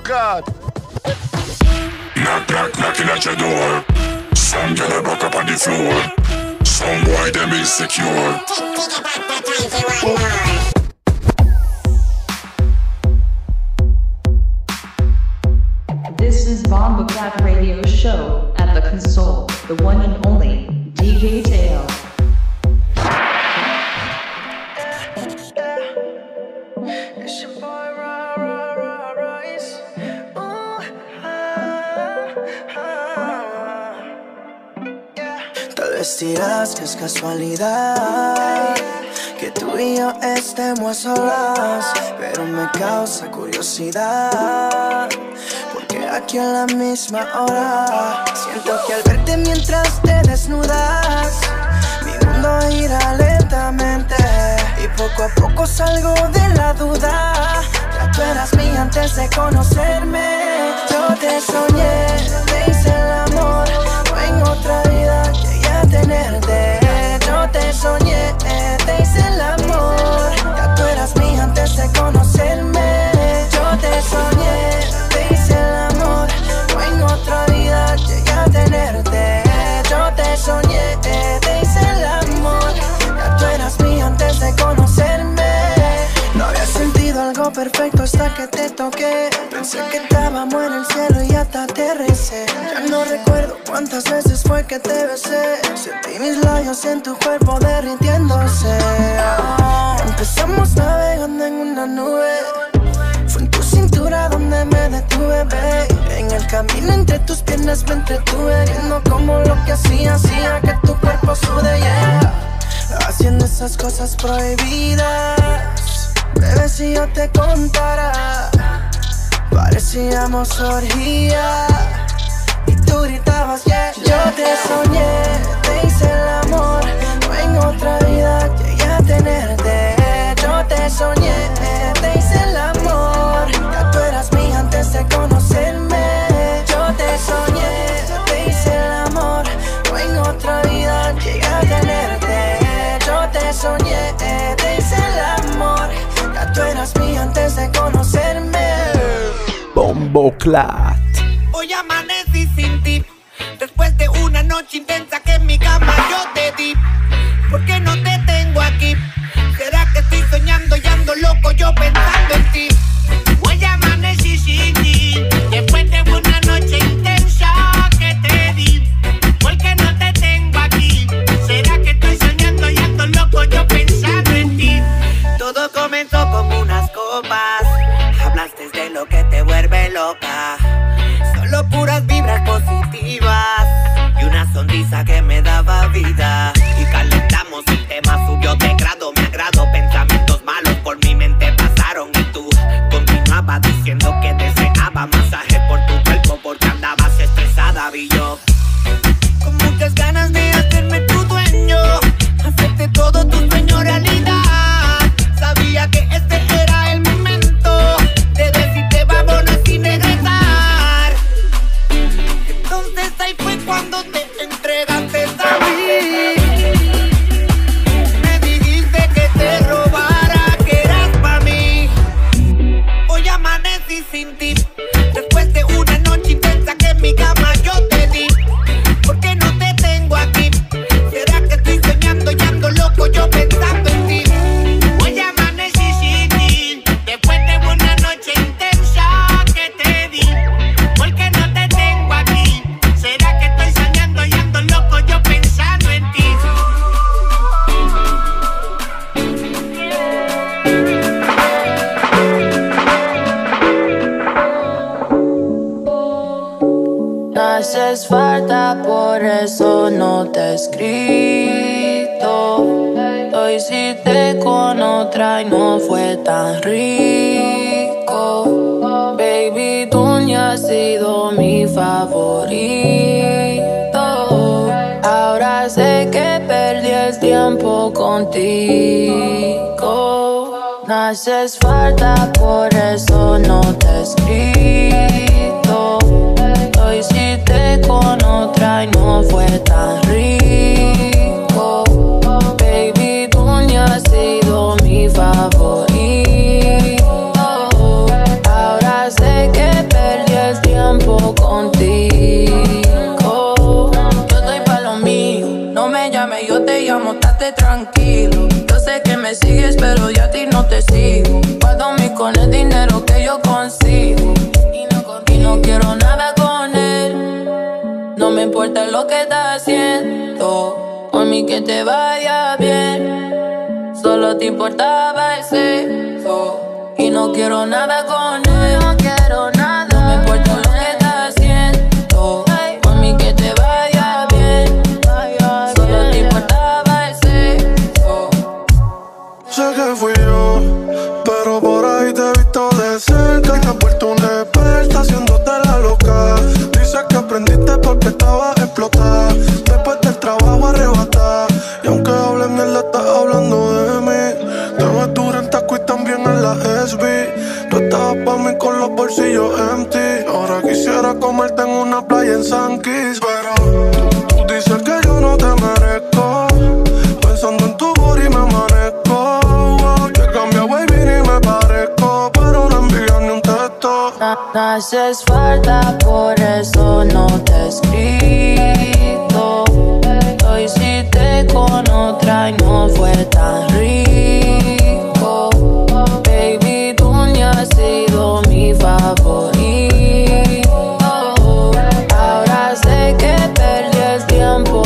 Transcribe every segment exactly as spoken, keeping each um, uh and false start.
God. Knock, knock, knocking at your door. Some girl a broke up on the floor. Some boy them insecure. This is Bomba Clap Radio Show at the console, the one and only D J Tail. It's your boy, Ra, Ra, Ra, Royce. Ooh, ah, ah. Yeah. Tal vez dirás que es casualidad que tú y yo estemos a solas, pero me causa curiosidad, porque aquí a la misma hora siento que al verte mientras te desnudas, mi mundo gira lentamente y poco a poco salgo de la duda. Ya tú eras mía antes de conocerme. Yo te soñé, te hice el amor, o en otra vida llegué a tenerte. Yo te soñé, te hice el amor. Ya tú eras mía antes de conocerme. Yo te soñé, te hice el amor, o en otra vida llegué a tenerte. Yo te soñé, te hice el amor. Ya tú eras mía antes de conocerme. No había sentido algo perfecto hasta que te toqué. Pensé que estábamos en el cielo y hasta aterricé. Ya no recuerdo cuántas veces fue que te besé. Sentí mis labios en tu cuerpo derritiéndose. Oh, empezamos navegando en una nube. Fue en tu cintura donde me detuve, babe. En el camino entre tus piernas me entretuve, viendo como lo que hacía hacía que tu cuerpo sude, yeah. Haciendo esas cosas prohibidas. Bebé, si yo te contara, parecíamos orgía. Y tú gritabas, yeah. Yo te soñé, te hice el amor, o en otra vida llegué a tenerte. Yo te soñé, te hice el amor. Ya tú eras mía antes de conocerme. Yo te soñé, te hice el amor, o en otra vida llegué a tenerte. Yo te soñé, te hice el amor. Ya tú eras mía antes de conocerme. Bombo Clat. Hoy amanecí sin ti, después de una noche intensa que en mi cama yo te di. ¿Por qué no te tengo aquí? ¿Será que estoy soñando y ando loco yo pensando en ti? Hoy amanecí sin ti, después de una noche intensa que te di. ¿Por qué no te tengo aquí? ¿Será que estoy soñando y ando loco yo pensando en ti? Todo comenzó con unas copas, hablaste de lo que te vuelve loca. Solo puras vibras positivas y una sonrisa que me daba vida. Y calentamos, el tema subió de grado, me agrado. Pensamientos malos por mi mente pasaron y tú continuabas diciendo que deseaba masaje por tu cuerpo porque andabas estresada. Vi yo con muchas ganas de hacerme tu dueño, hacerte todo tu sueño realidad. Sabía que este era el momento de decirte vámonos sin regresar. Entonces ahí fue cuando te entregaste a mí. Me dijiste que te robara, que eras pa' mí. Hoy amanecí sin ti, después de una noche intensa que en mi cama yo te di. ¿Por qué no te tengo aquí? ¿Será que estoy soñando y ando loco yo pensando en ti? Hoy amanecí sin ti, después de una noche intensa que te di. ¿Por qué no te tengo aquí? ¿Será que estoy soñando y ando loco yo pensando en ti? No haces falta, por eso no te he escrito. Lo hiciste con otra y no fue tan rico. Baby, tú ni has sido mi favorito. Ahora sé que perdí el tiempo contigo. No haces falta, por eso no te he escrito. Lo hiciste con otra y no fue tan rico. Baby, tú ni has sido mi favorito. Ahora sé que No me importa lo que estás haciendo, por mí que te vaya bien. Solo te importaba el sexo y no quiero nada con él. No quiero nada. No me importa lo que estás haciendo, por mí que te vaya bien. Solo te importaba el sexo. Sé que fui yo, pero por ahí te he visto de cerca y te has vuelto un experta haciéndote la loca. Dices que aprendiste porque estabas explotada, después del trabajo arrebatada. Y aunque hables mierda, estás hablando de mí. Te ves dura en taco y también en la S B. Tú estabas pa' mí con los bolsillos empty. Ahora quisiera comerte en una playa en San Kitts. Pero tú, tú dices que yo no te merezco, pensando en tu booty me amanezco. Yo he cambiado, baby, ni me parezco, pero no envías ni un texto. No haces falta, por eso no te he escrito. Lo hiciste con otra y no fue tan rico. Baby, tú ni has sido mi favorito. Ahora sé que perdí el tiempo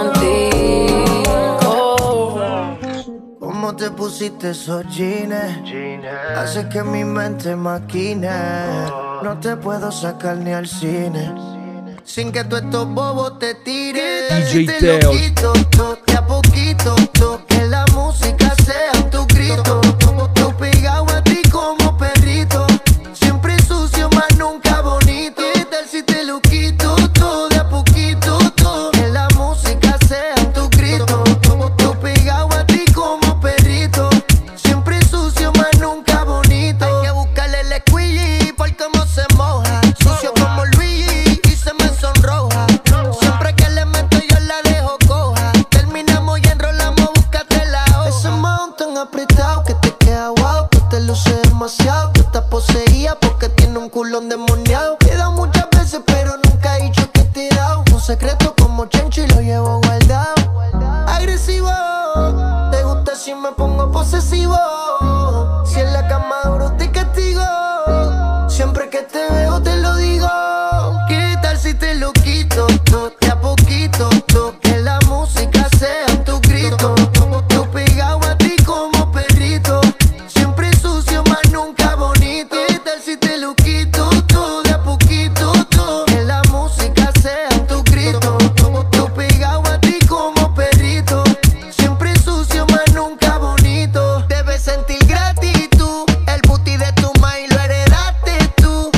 contigo. ¿Cómo te pusiste esos jeans? Hace que mi mente maquine. No te puedo sacar ni al cine sin que tú estos bobos te tires. D J Si te lo quito, to, de a poquito, to, que la música sea tu grito. Tú pegado a ti como perrito, siempre sucio, más nunca bonito. ¿Qué tal si te lo quito, to, de a poquito, to, que la música sea tu grito? Tú pegado a ti como perrito, siempre sucio, más nunca bonito. Hay que buscarle el squeegee por cómo se moja, sucio como Luigi y se me sonroja. Siempre que le meto yo la dejo coja. Terminamos y enrolamos, búscate la hoja. Ese mountain apretado que te queda guau, que te luce demasiado. Que estás poseída porque tiene un culón demoniado. He dado muchas veces pero nunca he dicho que te he dado. Un secreto como Chencho y lo llevo guardado. Agresivo, te gusta si me pongo posesivo. Si en la cama duro te castigo, siempre que te veo te lo digo. ¿Qué tal si te lo quito, to, de a poquito, to, que la música sea tu grito? Tú pegado a ti como perrito, siempre sucio, más nunca bonito. ¿Qué tal si te lo quito, to, de a poquito, to, que la música sea tu grito? Tú pegado a ti como perrito, siempre sucio, más nunca bonito. Debes sentir gratitud, el booty de tu maíz lo heredaste tú.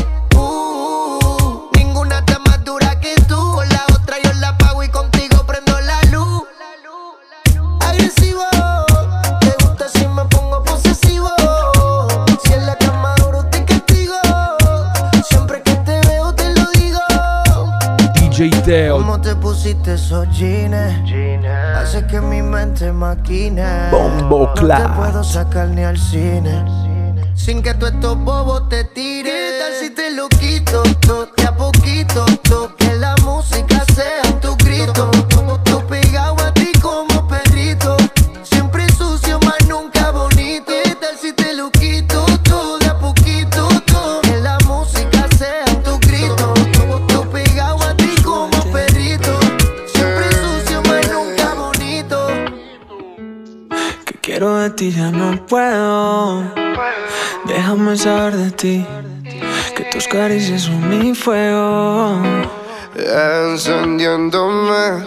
Uh, ninguna está más dura que tú. Con la otra yo la pago y contigo prendo la luz. Agresivo, te gusta si me pongo posesivo. Si en la cama duro te castigo, siempre que te veo te lo digo. D J Teo. ¿Cómo te pusiste esos jeans? Hace que mi mente maquine. Bombo No te Clat. puedo sacar ni al cine sin que tú estos bobos te tires. ¿Qué tal si te lo quito, to, de a poquito, to, que la música sea tu grito? Tú pegado a ti como perrito, siempre sucio, más nunca bonito. ¿Qué tal si te lo quito, to, de a poquito, to, que la música sea tu grito? Tú pegado a ti como perrito, siempre sucio, más nunca bonito. Que quiero de ti ya no puedo. Déjame saber de ti, que tus caricias son mi fuego. Encendiéndome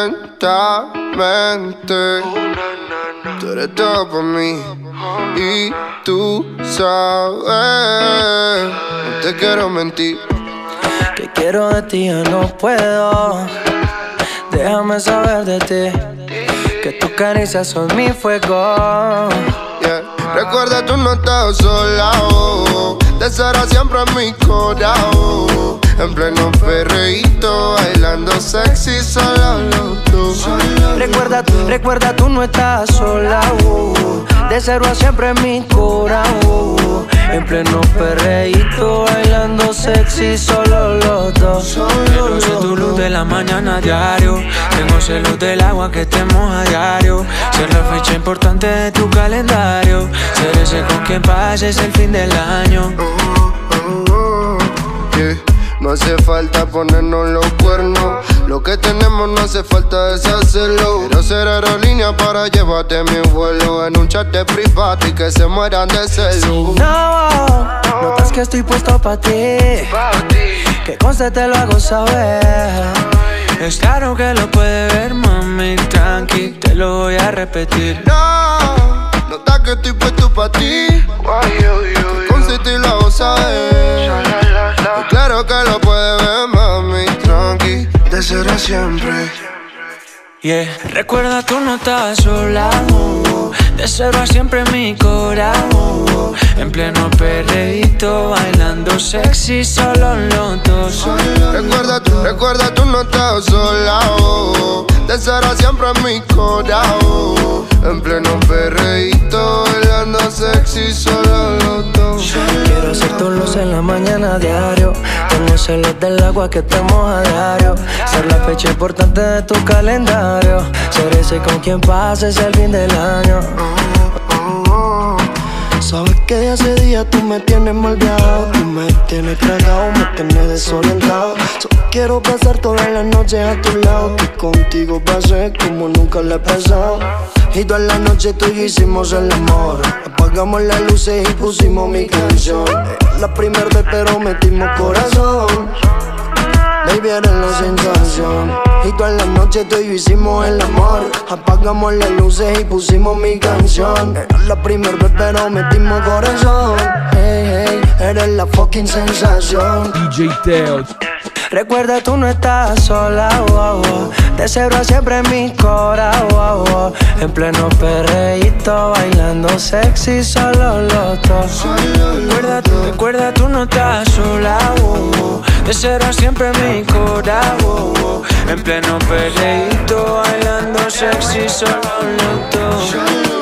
lentamente. Tú eres todo para mí y tú sabes. No te quiero mentir. Que quiero de ti ya no puedo. Déjame saber de ti, que tus caricias son mi fuego. Yeah. Recuerda, tú no estás sola, oh. Te será siempre en mi corazón. En pleno perreíto, bailando sexy, solo los dos. Recuerda, recuerda, tú no estás sola, uh. De cero a siempre en mi corazón. En pleno perreíto, bailando sexy, solo los dos. Yo soy tu luz de la mañana diario. Tengo celos del agua que te moja diario. Ser la fecha importante de tu calendario. Ser ese con quien pases el fin del año. Oh, oh, oh, yeah. No hace falta ponernos los cuernos. Lo que tenemos no hace falta deshacerlo. Quiero ser aerolínea para llevarte a mi vuelo en un chat de privado y que se mueran de celo. No, notas que estoy puesto pa' ti, que conste te lo hago saber. Es claro que lo puede ver, mami, tranqui, te lo voy a repetir. No, notas que estoy puesto pa' ti, que conste te lo hago saber. Es claro que lo puede ver, mami, tranqui, de será siempre. Yeah. Recuerda, tú no estás sola, oh. De cero a siempre mi corazón, en pleno perreíto, bailando sexy, solo los dos. Recuerda, tú, recuerda, tú no estás sola, oh. De cero a siempre mi corazón, en pleno perreíto, bailando sexy, solo los dos. Quiero ser tu luz en la mañana diario, tengo celos del agua que te moja a diario, ser la fecha importante de tu calendario, ser ese con quien pases el fin del año. Sabes que de hace días tú me tienes malviado, tú me tienes tragado, me tienes desorientado. Solo quiero pasar todas las noches a tu lado, que contigo pasé como nunca le he pasado. Y toda la noche tú y yo hicimos el amor, apagamos las luces y pusimos mi canción. La primera vez pero metimos corazón, baby eres la sensación. Y toda la noche tú y yo hicimos el amor, apagamos las luces y pusimos mi canción. Era la primera vez pero metimos corazón. Hey, hey, eres la fucking sensación. D J Teo. Recuerda, tú no estás sola, oh, oh. De cero a siempre en mi cora, oh, oh. En pleno perreíto, bailando sexy, solo los dos. Recuerda, recuerda, tú no estás sola, oh, oh. De cero a siempre en mi cora, oh, oh. En pleno perreíto, bailando sexy, solo los dos.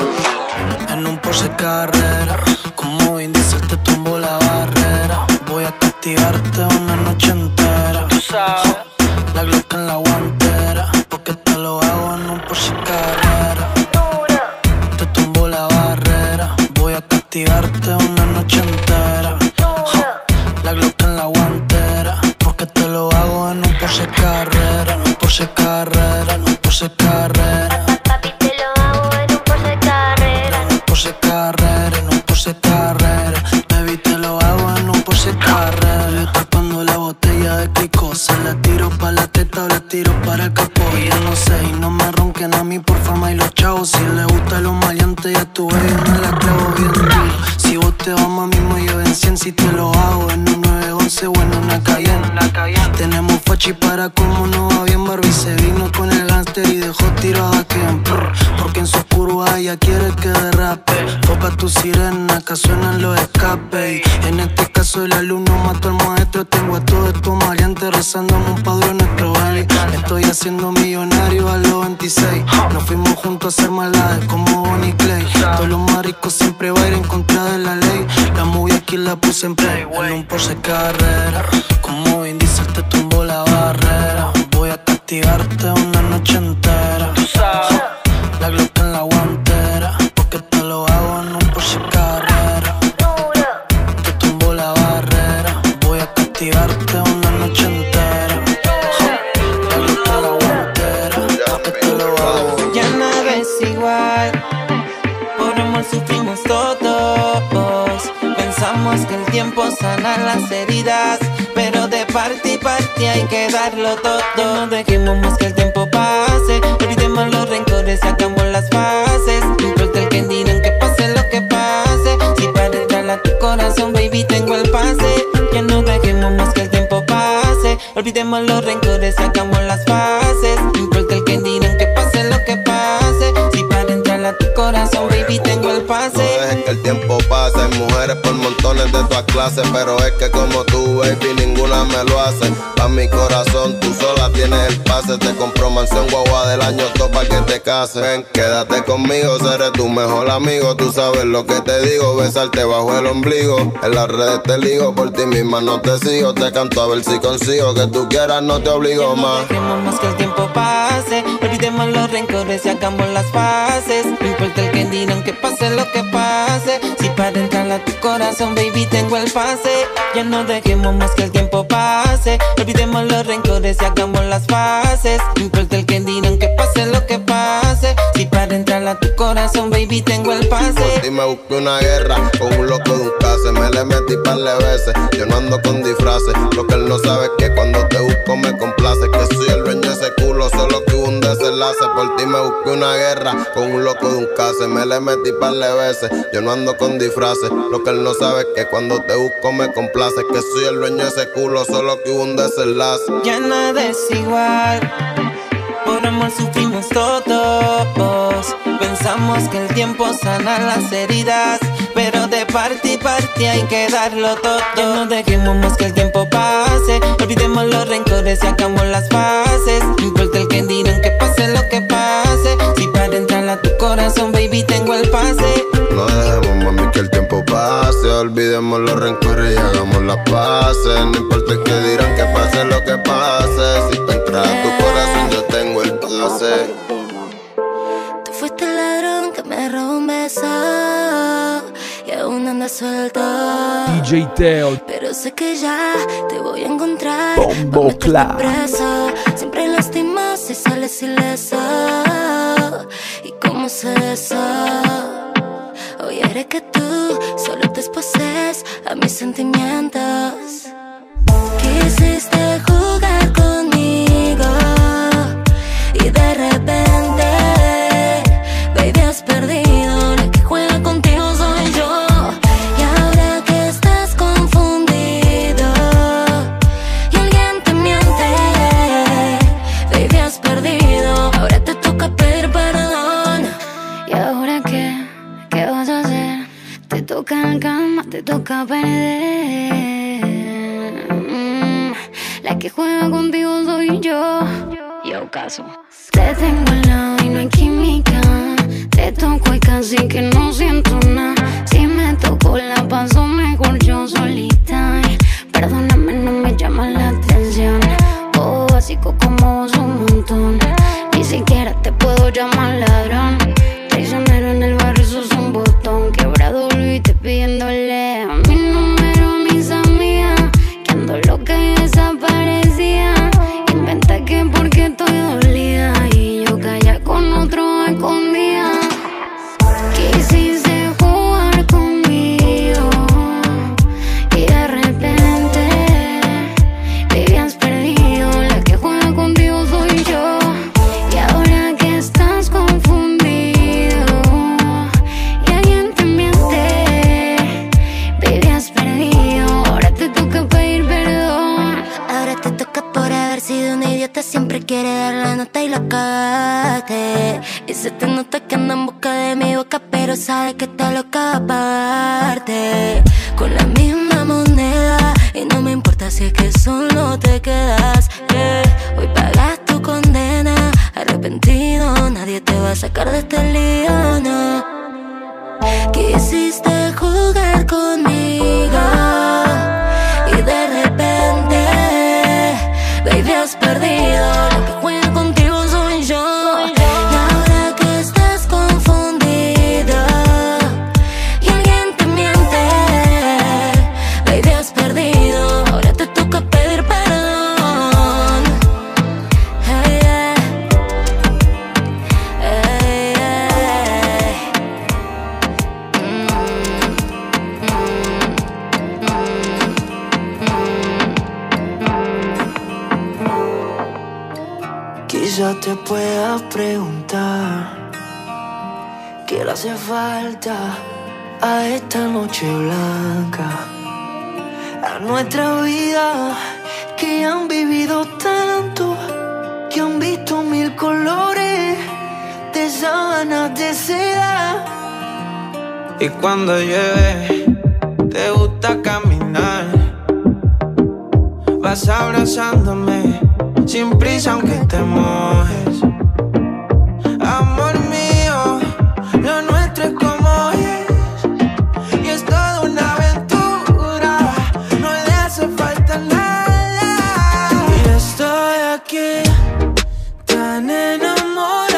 En un Porsche Carrera, como Vin Diesel te tumbo la barrera. Voy a castigarte una noche entera. Tú sabes, la Glock en la guantera, porque te lo hago en un Porsche Carrera. Te tumbo la barrera, voy a castigarte una noche entera. La Glock en la guantera, porque te lo hago en un Porsche Carrera, en un Porsche Carrera, en un Porsche Carrera. Papi, te lo hago en un Porsche Carrera. En un Porsche Carrera, en un Porsche Carrera. Baby, te lo hago en un Porsche Carrera. Tapando la botella de Clico, se la tiro pa' la teta o la tiro para el capó. Y yo no sé, y no me ronquen a mí por fama y los chavos. Si le gusta los maleantes, ya tu baby me la clavo bien duro. Si vos te vas más mismo, yo en cien si te lo hago en un nueve once o en una Cayenne. Tenemos fachi para como no va bien. Barbie se vino con el gánster y dejó tirado a Ken. Porque en su curva ella quiere que derrape. Foca tu sirena, que suenan los escapes. Y en este caso el alumno mató al maestro. Tengo a todos estos maleantes rezándome un padre nuestro baby. Me estoy haciendo millonario a los veintiséis. Nos fuimos juntos a hacer maldades como Bonnie Clay. Todos los maricos siempre va a ir en contra de la ley. La movie aquí la puse en play. En un Porsche Carrera, como Vin Diesel te tumbo la barrera. Voy a castigarte una noche entera. La Glock en la guantera, porque te lo hago en un Porsche Carrera. Te tumbo la barrera, voy a castigarte una noche entera. La Glock en la guantera, porque te lo hago. Ya nada es igual, por amor sufrimos todos. Pensamos que el tiempo sana las heridas, pero de parte y parte hay que darlo todo. No dejemos más que el tiempo pase, olvidemos los rencores, sacamos las fases. No importa el que dirán, que pase lo que pase. Si para entrar a tu corazón, baby, tengo el pase. Ya no dejemos más que el tiempo pase, olvidemos los rencores, sacamos las fases. No importa el que dirán, que pase lo que pase. Si para entrar a tu corazón, baby, tengo el pase. No dejes que el tiempo pase, hay mujeres por montones de todas clases, pero es que como tú, baby, ninguna me lo hace. Pa' mi corazón, tú sola tienes el pase. Te compro mansión guagua del año todo pa' que te cases. Ven, quédate conmigo, seré tu mejor amigo. Tú sabes lo que te digo, besarte bajo el ombligo. En las redes te ligo, por ti misma no te sigo. Te canto a ver si consigo, que tú quieras no te obligo más. No dejemos más que el tiempo pase, olvidemos Olvidemos los rencores y hagamos las paces. No importa el que dirán, que pase lo que pase. Si para entrar a tu corazón, baby, tengo el pase. Ya no dejemos más que el tiempo pase. Olvidemos los rencores y hagamos las paces. No importa el que dirán, que pase lo que pase. Si para entrar a tu corazón, baby, tengo el pase. Por ti me busqué una guerra con un loco de un case. Me le metí par de veces, yo no ando con disfraces. Lo que él no sabe es que cuando te busco me complace. Que soy el dueño de ese culo, solo que hubo un desenlace. Por ti me busqué una guerra con un loco de un case. Me le metí par de veces, yo no ando con disfraces. Lo que él no sabe es que cuando te busco me complace. Que soy el dueño de ese culo, solo que hubo un desenlace. Ya nada es igual, por amor sufrimos todos. Pensamos que el tiempo sana las heridas, pero de parte y parte hay que darlo todo. Ya no dejemos más que el tiempo pase. Olvidemos los rencores y hagamos las paces. No importa el que dirán, que pase lo que pase. Si para entrar a tu corazón, baby, tengo el pase. No dejemos, mami, que el tiempo pase. Olvidemos los rencores y hagamos las paces. No importa el que dirán, que pase lo que pase. Si para entrar a tu corazón, yo tengo el pase. Tú fuiste el ladrón que me robó un beso y aún andas suelto. D J Teo. Pero sé que ya te voy a encontrar. Bombo Clap. Siempre lastimas y sales ileso. ¿Y cómo sé eso? Hoy haré que tú solo te exposes a mis sentimientos. Quisiste jugar conmigo y de repente, baby, has perdido. La que juega contigo soy yo. Y ahora que estás confundido y alguien te miente, baby, has perdido. Ahora te toca pedir perdón. ¿Y ahora qué? ¿Qué vas a hacer? Te toca en la cama, te toca perder. Mm, la que juega contigo soy yo. Yo caso. Te tengo al lado y no hay química. Te toco y casi que no siento nada. Si me toco la paso mejor yo solita. Perdóname, no me llama la atención. Oh, básico como vos un montón. Ni siquiera te puedo llamar ladrón. Traicionero en el barrio, sos un botón. Quebrado y te pidiéndole a mi número, a mis amigas. Que ando loca y desaparecía. Inventa que porque estoy dolida y yo calla con otro escondida. Quisiste jugar conmigo y de repente, baby, has perdido. La que juega contigo soy yo. Y ahora que estás confundido y alguien te miente, baby, has perdido. Ahora te toca pedir perdón. Ahora te toca por haber sido un idiota. Siempre quiere dar la nota y la cagaste. Y se te nota que anda en busca de mi boca, pero sabe que te lo aparte. Con la misma moneda y no me importa si es que solo te quedas. Yeah. Hoy pagas tu condena. Arrepentido, nadie te va a sacar de este lío, no. Quisiste jugar conmigo y de repente, baby, has perdido. La que juega contigo soy yo. Y ahora que estás confundido y alguien te miente, baby, has perdido. Ahora te toca pedir perdón. Hey, yeah. Hey, yeah. Mm, mm, mm. Quizá te puedas preguntar qué le hace falta a esta noche blanca, a nuestra vida, que han vivido tanto, que han visto mil colores de sábanas de seda. Y cuando llueve, te gusta caminar, vas abrazándome sin prisa aunque te mojes. Amor mío, lo nuestro es como es, y es toda una aventura, no le hace falta nada. Y estoy aquí, tan enamorado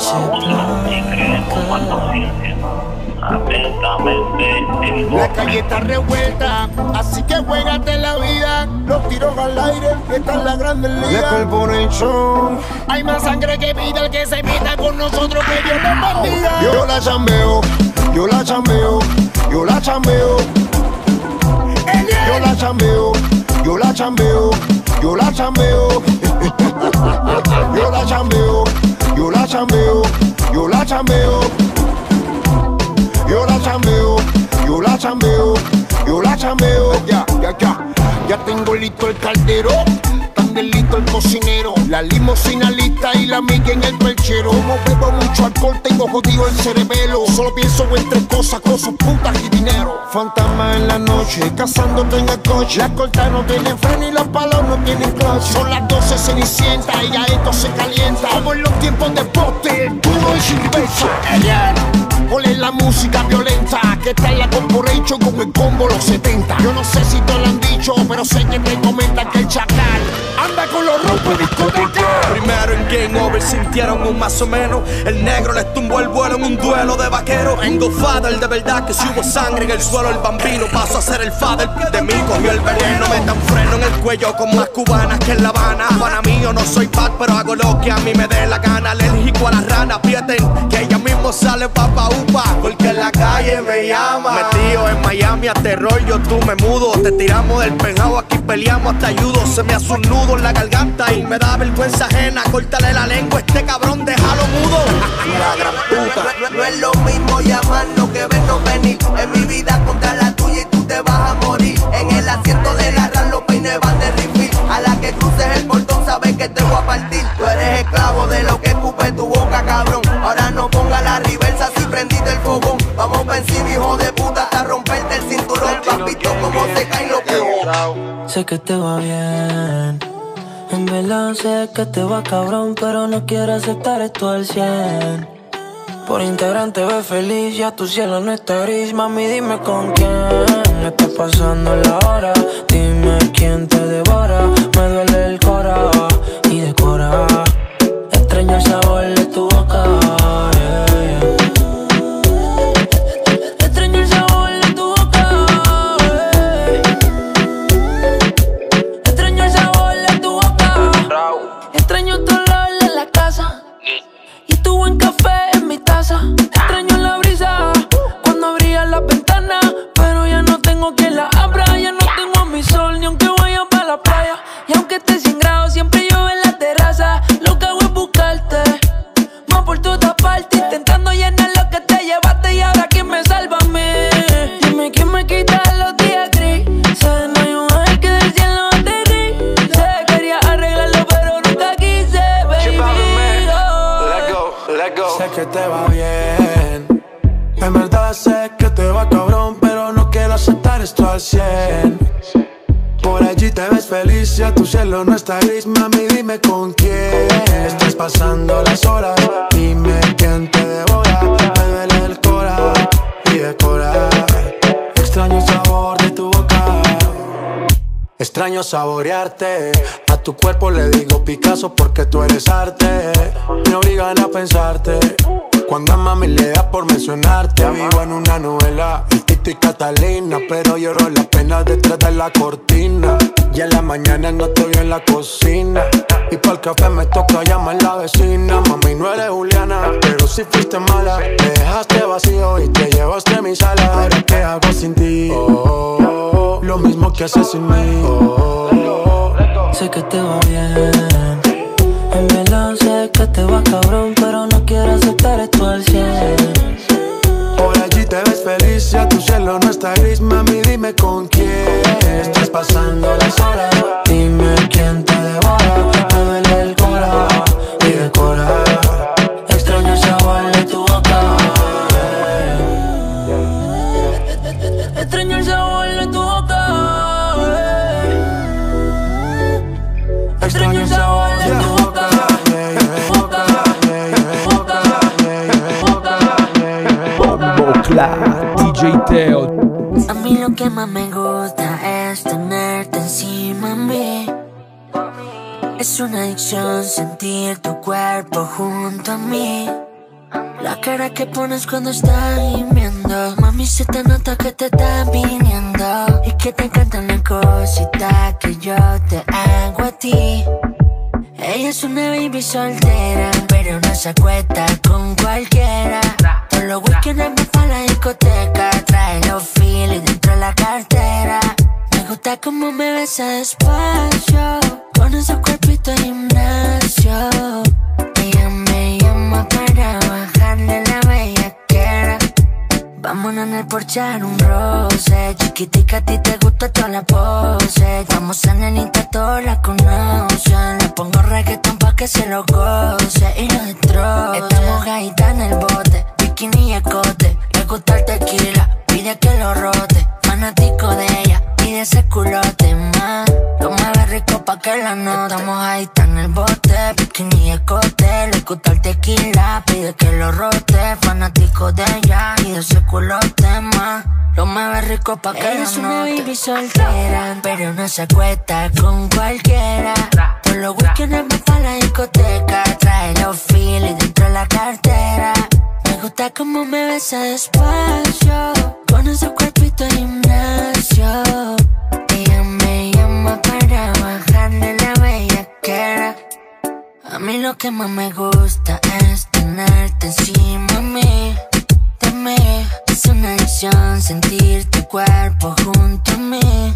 noche atentamente. La calle está revuelta, así que juégate la vida. Los tiros al aire, esta es la grande liga. La corporation. Hay más sangre que vida, el que se meta con nosotros que Dios nos bendiga. Yo la chambeo, yo la chambeo, yo la chambeo. Yo la chambeo, yo la chambeo, yo la chambeo. Yo la chambeo, yo la chambeo, yo la chambeo. Yo la chambeo, yo la chambeo, yo la chambeo. Ya, ya, ya, ya tengo listo el caldero, también listo el cocinero, la limosina lista y la miga en el perchero. Como bebo mucho alcohol, tengo jodido el cerebelo. Solo pienso en tres cosas, cosas, putas y dinero. Fantasma en la noche, cazándote en el coche. Las cortas no tienen freno y los palos no tienen clutch. Son las doce cenicienta y ya esto se calienta. Como en los tiempos de poste, el duro y sin pecho. Ponle la música violenta, que está en la corporation con el combo los setenta. Yo no sé si te lo han dicho, pero sé que te comentan que el chacal anda con los rompos discotecas. Primero en Game Over sintieron un más o menos. El negro les tumbó el vuelo en un duelo de vaqueros. En Godfather de verdad que si hubo sangre en el suelo, el bambino pasó a ser el father. De mí cogió el veneno, me dan freno en el cuello con más cubanas que en La Habana. Pana mío, no soy bad, pero hago lo que a mí me dé la gana. Alérgico a las ranas, aprieten que ella mismo sale papa upa, porque en la calle me llama. Metido en Miami a terror, yo tú me mudo. Te tiramos del penjao, aquí peleamos hasta ayudo. Se me hace un nudo en la garganta y me da vergüenza ajena. Córtale la lengua, este cabrón, déjalo mudo. La gran puta. No, no, no es lo mismo llamarnos que vernos venir. En mi vida contra la tuya y tú te vas a morir. En el asiento de la RAM los peines van de refill. A la que cruces el portón sabes que te voy a partir. Tú eres esclavo de lo que escupe tu boca, cabrón. Ahora no ponga la reversa si prendiste el fogón. Vamos pa' encima, hijo de puta, hasta romperte el cinturón. Papito, como se caen los pibos. Sé que te va bien, en verdad sé que te va cabrón, pero no quiero aceptar esto al cien. Por Instagram te ves feliz, ya tu cielo no está gris. Mami, dime con quién está pasando la hora. Dime quién te devora, me duele el cora y decora. Extraño el sabor de tu boca, yeah, yeah. Extraño el sabor de tu boca, yeah. Extraño el sabor de tu boca. Extraño tu olor en la casa y tu buen café en mi taza. Extraño la brisa cuando abrías la ventana, pero ya no tengo quien la abra. Ya no tengo a mi sol ni aunque vaya para la playa. Y aunque esté cien grados siempre llueve en la terraza. Lo que hago es buscarte más por toda parte, intentando llenar lo que te llevaste. Y ahora quién me salva a mí. Dime quién me quita los días grises. No hay un ángel que del cielo te dice. Quería arreglarlo pero nunca quise, baby. Sé que te va bien, en verdad sé que te va cabrón, pero no quiero aceptar esto al cien. Por allí te ves feliz, ya tu cielo no está gris. Mami, dime con quién estás pasando las horas. Dime quién te devora, me duele el cora y decora. Extraño el sabor de tu boca, extraño saborearte. A tu cuerpo le digo Picasso porque tú eres arte. Me obligan a pensarte cuando a mami le da por mencionarte. Vivo en una novela, el Tito y Catalina, pero lloro las penas detrás de la cortina. Y en la mañana no te veo en la cocina, y pa'l café me toca llamar la vecina. Mami, no eres Juliana, pero si fuiste mala. Me dejaste vacío y te llevaste mi sala. Ahora qué hago sin ti, oh, oh, oh. Lo mismo que haces sin mí, oh, oh, oh. Sé que te va bien, en verdad sé que te va cabrón, pero no quiero aceptar esto al cien. Por allí te ves feliz, ya tu cielo no está gris. Mami, dime con quién estás pasando las horas. Dime quién te devora, me duele el cora y decora. Extraño el sabor de tu boca, extraño el sabor de tu boca, extraño el sabor de tu boca. D J Teo. A mí lo que más me gusta es tenerte encima de mí. Es una adicción sentir tu cuerpo junto a mí. cara que pones cuando estás gimiendo. Mami, se te nota que te estás viniendo y que te encantan las cositas que yo te hago a ti. Ella es una baby soltera, pero no se acuesta con cualquiera. Todos los weekends va pa' la discoteca, trae los filis dentro de la cartera. Me gusta como me besa despacio, con ese cuerpito de gimnasio. Ella me llama para bajarle la bellaquera. Vámonos en el Porsche a dar un roce. Chiquitica, a ti te gusta toda la pose. Vamos a nenita, todos la conocen. Le pongo reggaetón pa' que se lo goce y lo destroce. Estamos gaita en el bote, bikini y escote. Le gusta el tequila, pide que lo rote. Fanático de ella y de ese culote más. Lo mueve rico pa' que la note. Estamos gaita en el bote, bikini y escote. Le gusta el tequila, pide que lo rote. Fanático de ella y de ese culote más. Lo mueve rico pa' que la note. Ella es una baby soltera, pero no se acuesta con cualquiera. Todos los weekends va pa' la discoteca, trae los filis dentro de la cartera. Me gusta como me besa despacio, con ese cuerpito de gimnasio. Ella me llama para bajarle la bellaquera. A mí lo que más me gusta es tenerte encima de mí, de mí. Es una adicción sentir tu cuerpo junto a mí.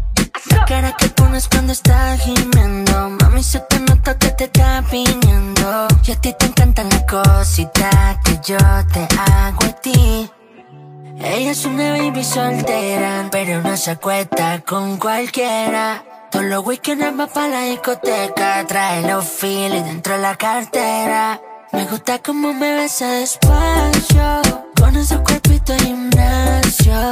La cara que pones cuando estás gimiendo, mami, se te nota que te está viniendo. Y a ti te encantan las cositas que yo te hago a ti. Ella es una baby soltera, pero no se acuesta con cualquiera. Todos los weekends va pa' la discoteca, trae los filis dentro de la cartera. Me gusta como me besa despacio, con ese cuerpito de gimnasio.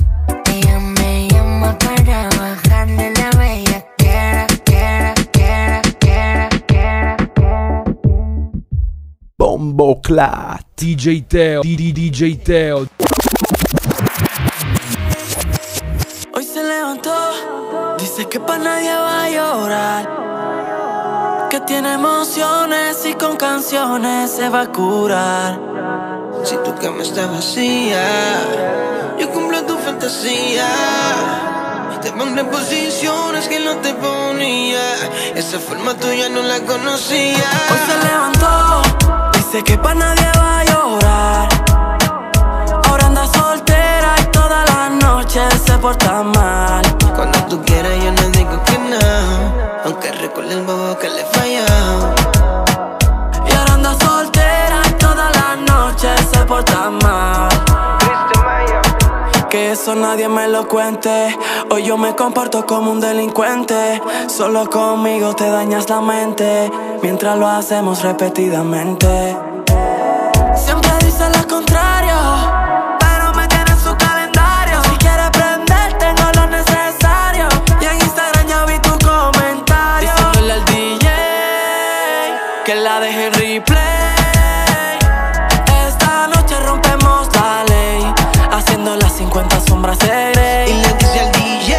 Ella me llama para bajarle la bellaquera, quera, quera, quera, quera, quera. Bombo Clat, D J Teo, D J Teo. Hoy se levantó, dice que pa' nadie va a llorar, que tiene emociones y con canciones se va a curar. Si tu cama está vacía, yo cumplo tu fantasía. Te pondré en posiciones que no te ponía. Esa forma tuya no la conocía. Hoy se levantó, dice que pa' nadie va a llorar. Ahora anda soltera y todas las noches se porta mal. Cuando tú quieras yo no digo que no, aunque recuerde el bobo que le he fallado. Y ahora anda soltera y todas las noches se porta mal. Que eso nadie me lo cuente. Hoy yo me comporto como un delincuente. Solo conmigo te dañas la mente, mientras lo hacemos repetidamente. Siempre dice lo contrario, pero me tiene en su calendario. Si quieres prender, tengo lo necesario. Y en Instagram ya vi tu comentario, diciéndole al D J que la deje en replay. Esta noche rompemos la ley, haciendo las cincuenta sombras de Grey. Y le dice al D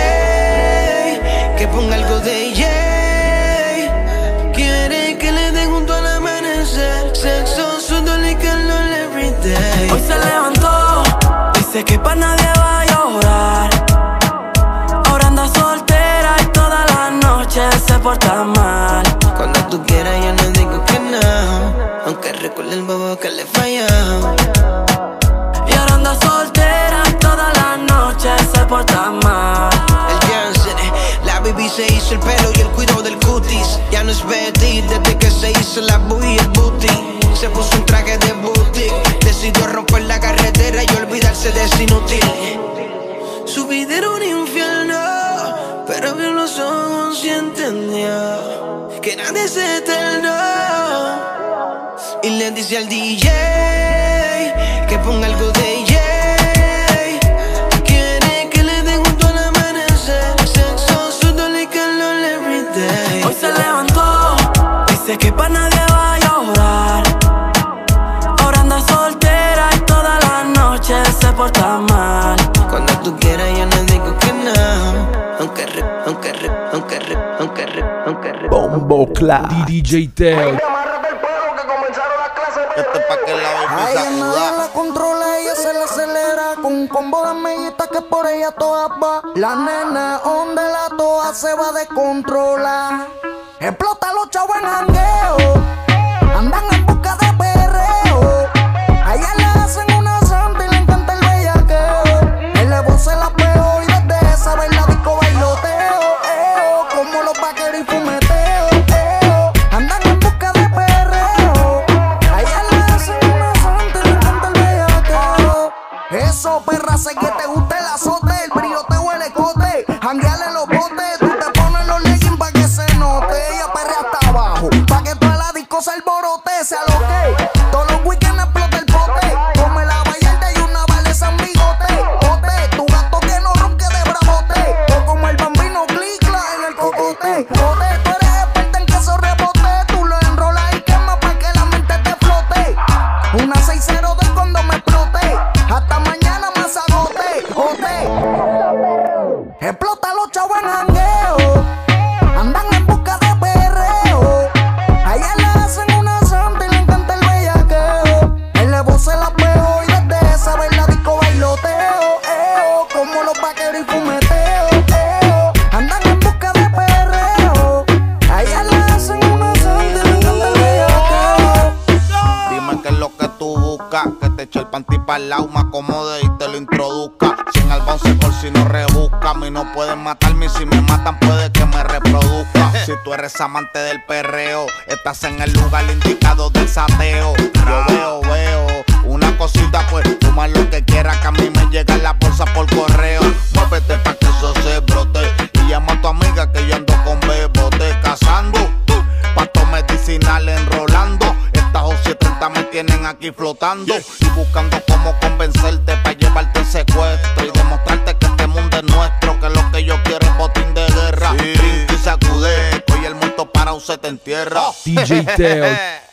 J que ponga algo de Jay. Quiere que le dé junto al amanecer, sexo, sudor y calor every day. Hoy se levantó, dice que pa' nadie va a llorar. Ahora anda soltera y todas las noches se porta mal. Cuando tú quieras yo no digo que no, aunque recuerde el bobo que le he fallado. Y ahora anda soltera y todas las noches se porta mal. El Janssen, la baby se hizo el pelo y el cuidado del cutis. Ya no es Betty desde que se hizo la booty y el booty. Se puso un traje de boutique, decidió romper la carretera y olvidarse de ese inútil. Su vida era un infierno, pero abrió los ojos y entendió que nadie es eterno. Y le dice al D J que ponga algo de Jay. Quiere que le dé junto al amanecer, sexo, sudor y calor every day. Hoy se levantó, dice que pa' nadie va a llorar. Ahora anda soltera y todas las noches se porta mal. Cuando tú quieras yo no digo que no, aunque re, aunque re, aunque re, aunque re, aunque re. Bombo Clat, D J Teo. Esto es pa' que la baby a ella nadie sacuda. la controla, ella se la acelera con un combo de amiguitas que por ella todas va. La nena donde la toa se va a descontrolar. Explota los chavos en jangueo, andan en busca de perreo. A ella le hacen una santa y le encanta el bellaqueo. El levo se la pegó y desde esa vez la disco bailoteo. Eo, como los vaqueros y fumeteo. Eo, andan en busca de perreo. A ella le hacen una santa y le encanta el bellaqueo. Eso, perra, sé que te gusta el azote, el briote o el escote. Jangueale los botes, tú te pones los leggings pa' que se note. Ella perrea hasta abajo, pa' que toda la disco se alborote, se aloque. Todos los weekends explota el pote. Come la vallarta y una vale San Bigote. Ote, tu gato que no ronque de bravote. O como el bambino clicla en el cocote. Ote, tú eres experta en queso rebote. Tú lo enrolas y quemas pa' que la mente te flote. Una seis cero dos cuando me explote. Hasta mañana más agote. Ote, explota los chavos en jangueo, andan en busca de perreo. A ella le hacen una santa y le encanta el bellaqueo. El levo se la pegó y desde esa vez la disco bailoteo. Eo, como los vaqueros y fumeteo. Eo, andan en busca de perreo. A ella le hacen una santa y le encanta el bellaqueo. Dime qué es lo que tú buscas, que te eche el panty pa'l lado, me acomode y te lo introduzca. Sin albonce por si no rebusca, a mí no pueden matarme y si me matan puede que me reproduzca. Si tú eres amante del perreo, estás en el lugar indicado del sateo. Yo veo, veo una cosita, pues toma lo que quieras, que a mí me llega la bolsa por correo. Muévete pa' que eso se brote y llama a tu amiga que yo ando con bebote cazando. Pasto medicinal enrolando. Estas O siete treinta me tienen aquí flotando y buscando cómo convencerte para llevarte en secuestro y demostrarte que este mundo es nuestro, que lo que yo quiero es botín de guerra. Sí. Brinca y sacude, hoy el muerto para usted te entierra. D J Teo.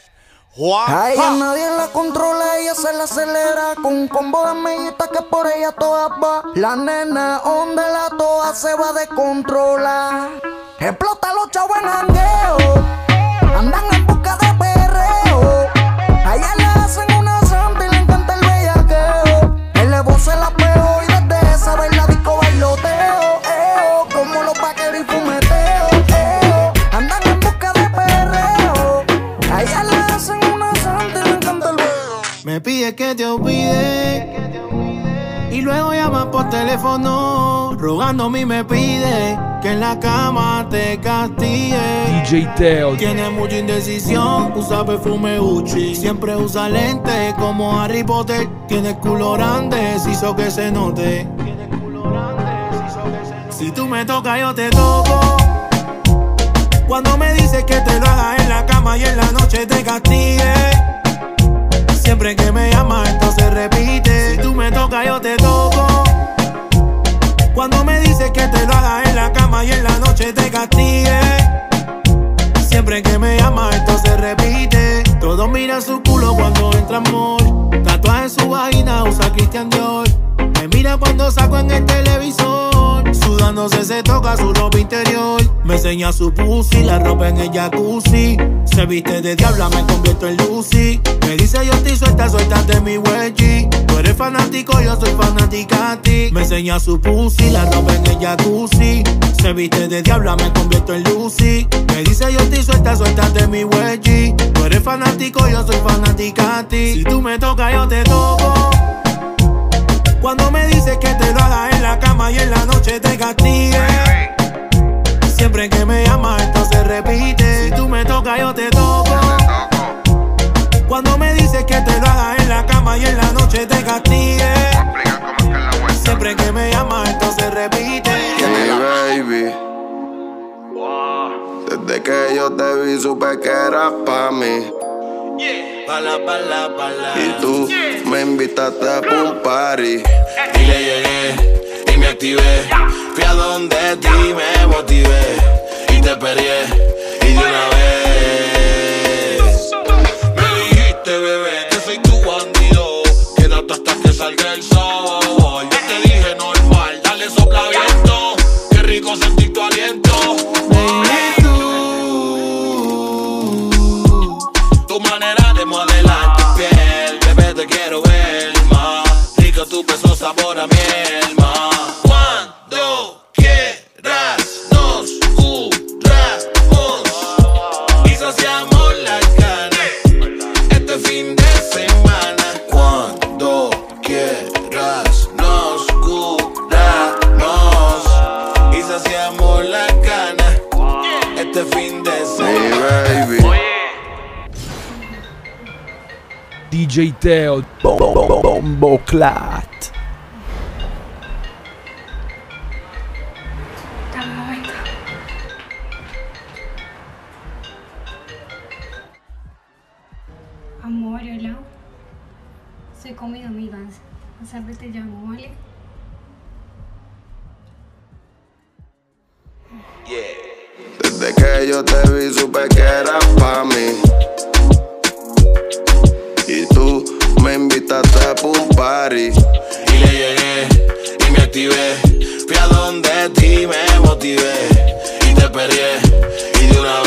A ella nadie la controla, ella se la acelera con un combo de amiguitas que por ella todas va. La nena donde la toa se va a descontrolar. Explota los chavos en jangueo, andan en busca de perreo. A ella le hacen una santa y le encanta el bellaqueo. El levo se la pegó y desde esa vez la disco bailoteo. Eo, como los vaqueros y fumeteo. Eo, andan en busca de perreo. A ella le hacen una santa y le encanta el bellaqueo. Me pide que te olvide y luego llama por teléfono, rogándome y me pide que en la cama te castigue. D J Teo. Tiene mucha indecisión, usa perfume Gucci, siempre usa lentes como Harry Potter. Tiene el culo grande, se hizo que se note. Si tú me tocas yo te toco. Cuando me dices que te lo haga en la cama y en la noche te castigue. Siempre que me llamas esto se repite. Si tú me tocas yo te toco. Cuando me dices que te lo haga en la cama y en la noche te castigue. Siempre que me llamas esto se repite. Todos miran su culo cuando entra amor. Tatuaje en su vagina, usa Christian Dior. Me mira cuando saco en el televisor. Sudándose se toca su ropa interior. Me enseña su pussy, la ropa en el jacuzzi. Se viste de diabla, me convierto en Lucy. Me dice yo estoy suelta, suéltate mi wedgie. Tú eres fanático, yo soy fanática a ti. Me enseña su pussy, la ropa en el jacuzzi. Se viste de diabla, me convierto en Lucy. Me dice yo estoy suelta, suéltate mi wedgie. Tú eres fanático, yo soy fanática a ti. Si tú me tocas, yo te toco. Cuando me dices que te lo haga en la cama y en la noche te castigue. Siempre que me llamas esto se repite. Si tú me tocas yo te toco. Cuando me dices que te lo haga en la cama y en la noche te castigue. Siempre que me llamas esto se repite. Hey baby, desde que yo te vi supe que eras pa' mí. Bala, bala, bala. Y tú me invitaste a un party. Y le llegué y me activé. Fui a donde ti me motivé. Y te peleé y de una vez me dijiste, bebé, que soy tu bandido. Quédate hasta que salga el sol. Yo te dije normal, dale sopla viento. Qué rico sentir tu aliento. Baby, tú, tu manera de modelar tu piel. beso sabor a miel, ma. Cuando quieras nos curamos y saciamos la gana este fin de semana. Cuando quieras nos curamos y saciamos la gana este fin de semana. Hey, baby. D J Teo Bombo Clat. Dame un momento. Amor, hola. Soy con mis amigas. Más tarde te llamo, ¿vale? Desde que yo te vi supe que eras pa' mí. Y tú me invitaste a un party. Y le llegué y me activé. Fui a donde ti me motivé. Y te perrié y de una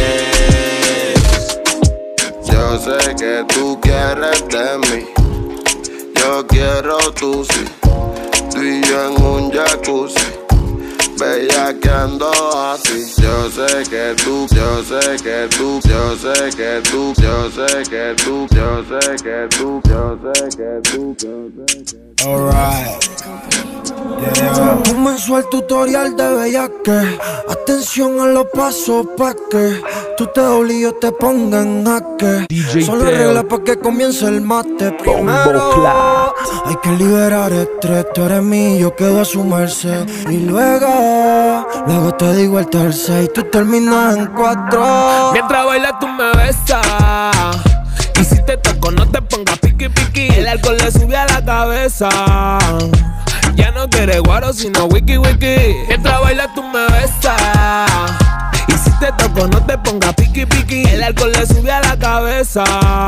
vez. Yo sé que tú quieres de mí. Yo quiero tú sí. Tú y yo en un jacuzzi. Bellaqueando así. Yo sé que tú, yo sé que tú, yo sé que tú, yo sé que tú, yo sé que tú, yo sé que tú, yo sé que tú. Alright. Yeah. Comenzó el tutorial de bellaque. Atención a los pasos pa' que tú te dobles y yo te ponga en jaque. Son las reglas pa' que comience el mate. Primero hay que liberar estrés. Tú eres mío, yo quedo a su merced. Y luego, luego te digo el tercer y tú terminas en cuatro. Mientras bailas tú me besas. Y si te toco no te pongas piqui piqui. El alcohol le sube a la cabeza. Ya no quieres guaro sino wiki wiki. Mientras bailas tú me besas. Y si te toco no te pongas piqui piqui. El alcohol le sube a la cabeza.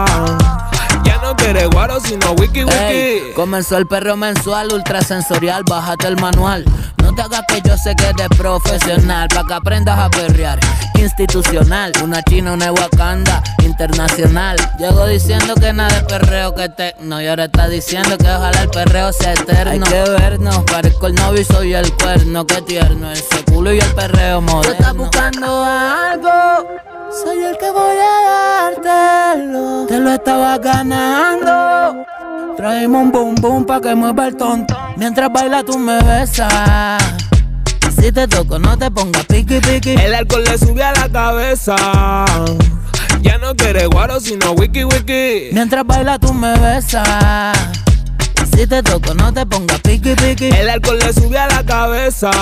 Ya no quieres guaro sino wiki wiki. Ey, comenzó el perreo mensual, ultrasensorial, bájate el manual. No te hagas que yo sé que eres profesional, pa' que aprendas a perrear. Institucional, una china, una Wakanda, internacional. Llego diciendo que nada de perreo que tecno. Y ahora está diciendo que ojalá el perreo sea eterno. Hay que vernos, parezco el novio y soy el cuerno. Qué tierno, ese culo y el perreo moderno. Tú estás buscando algo, soy el que voy a dártelo. Te lo estaba ganando. Traemos un boom boom pa' que mueva el tonto. Mientras baila tú me besas. Si te toco no te pongas piqui piqui. El alcohol le sube a la cabeza. Ya no quieres guaro sino wiki wiki. Mientras baila tú me besas. Si te toco no te pongas piqui piqui. El alcohol le sube a la cabeza.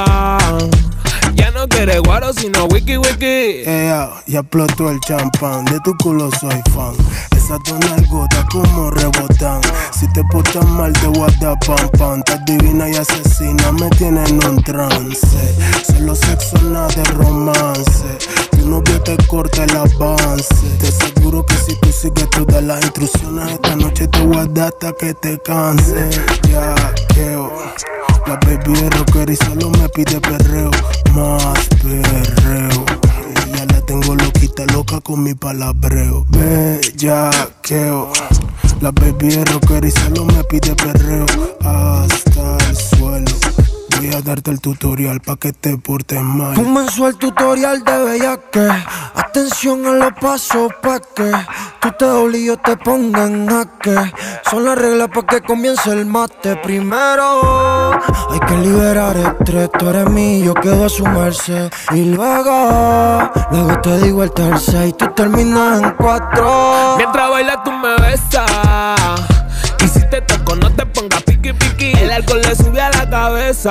Ya no quieres guaro sino wiki wiki. Yeah, ya explotó el champán. De tu culo soy fan. Esas dos nalgotas como rebotan. Si te portas mal te voy a dar pam pam. Estás divina y asesina, me tienes en un trance. Solo sexo, nada de romance. Tu novio te corta el avance. Te aseguro que si tú sigues todas las instrucciones, esta noche te voy a dar hasta que te canse. Ya, queo. La baby es rocker y solo me pide perreo. Más perreo. Ya la tengo loquita, loca con mi palabreo. Bellaqueo. La baby es rocker y solo me pide perreo. Hasta el suelo. Voy a darte el tutorial pa' que te portes mal. Comenzó el tutorial de bellaque. Atención a los pasos pa' que tú te dobles y yo te ponga en jaque. Son las reglas pa' que comience el mate. Primero hay que liberar estrés. Tú eres mío, yo quedo a su merced. Y luego, luego te digo el tercer y tú terminas en cuatro. Mientras bailas tú me besas. Y si te toco no te pongas piqui piqui. El alcohol le sube a la cabeza.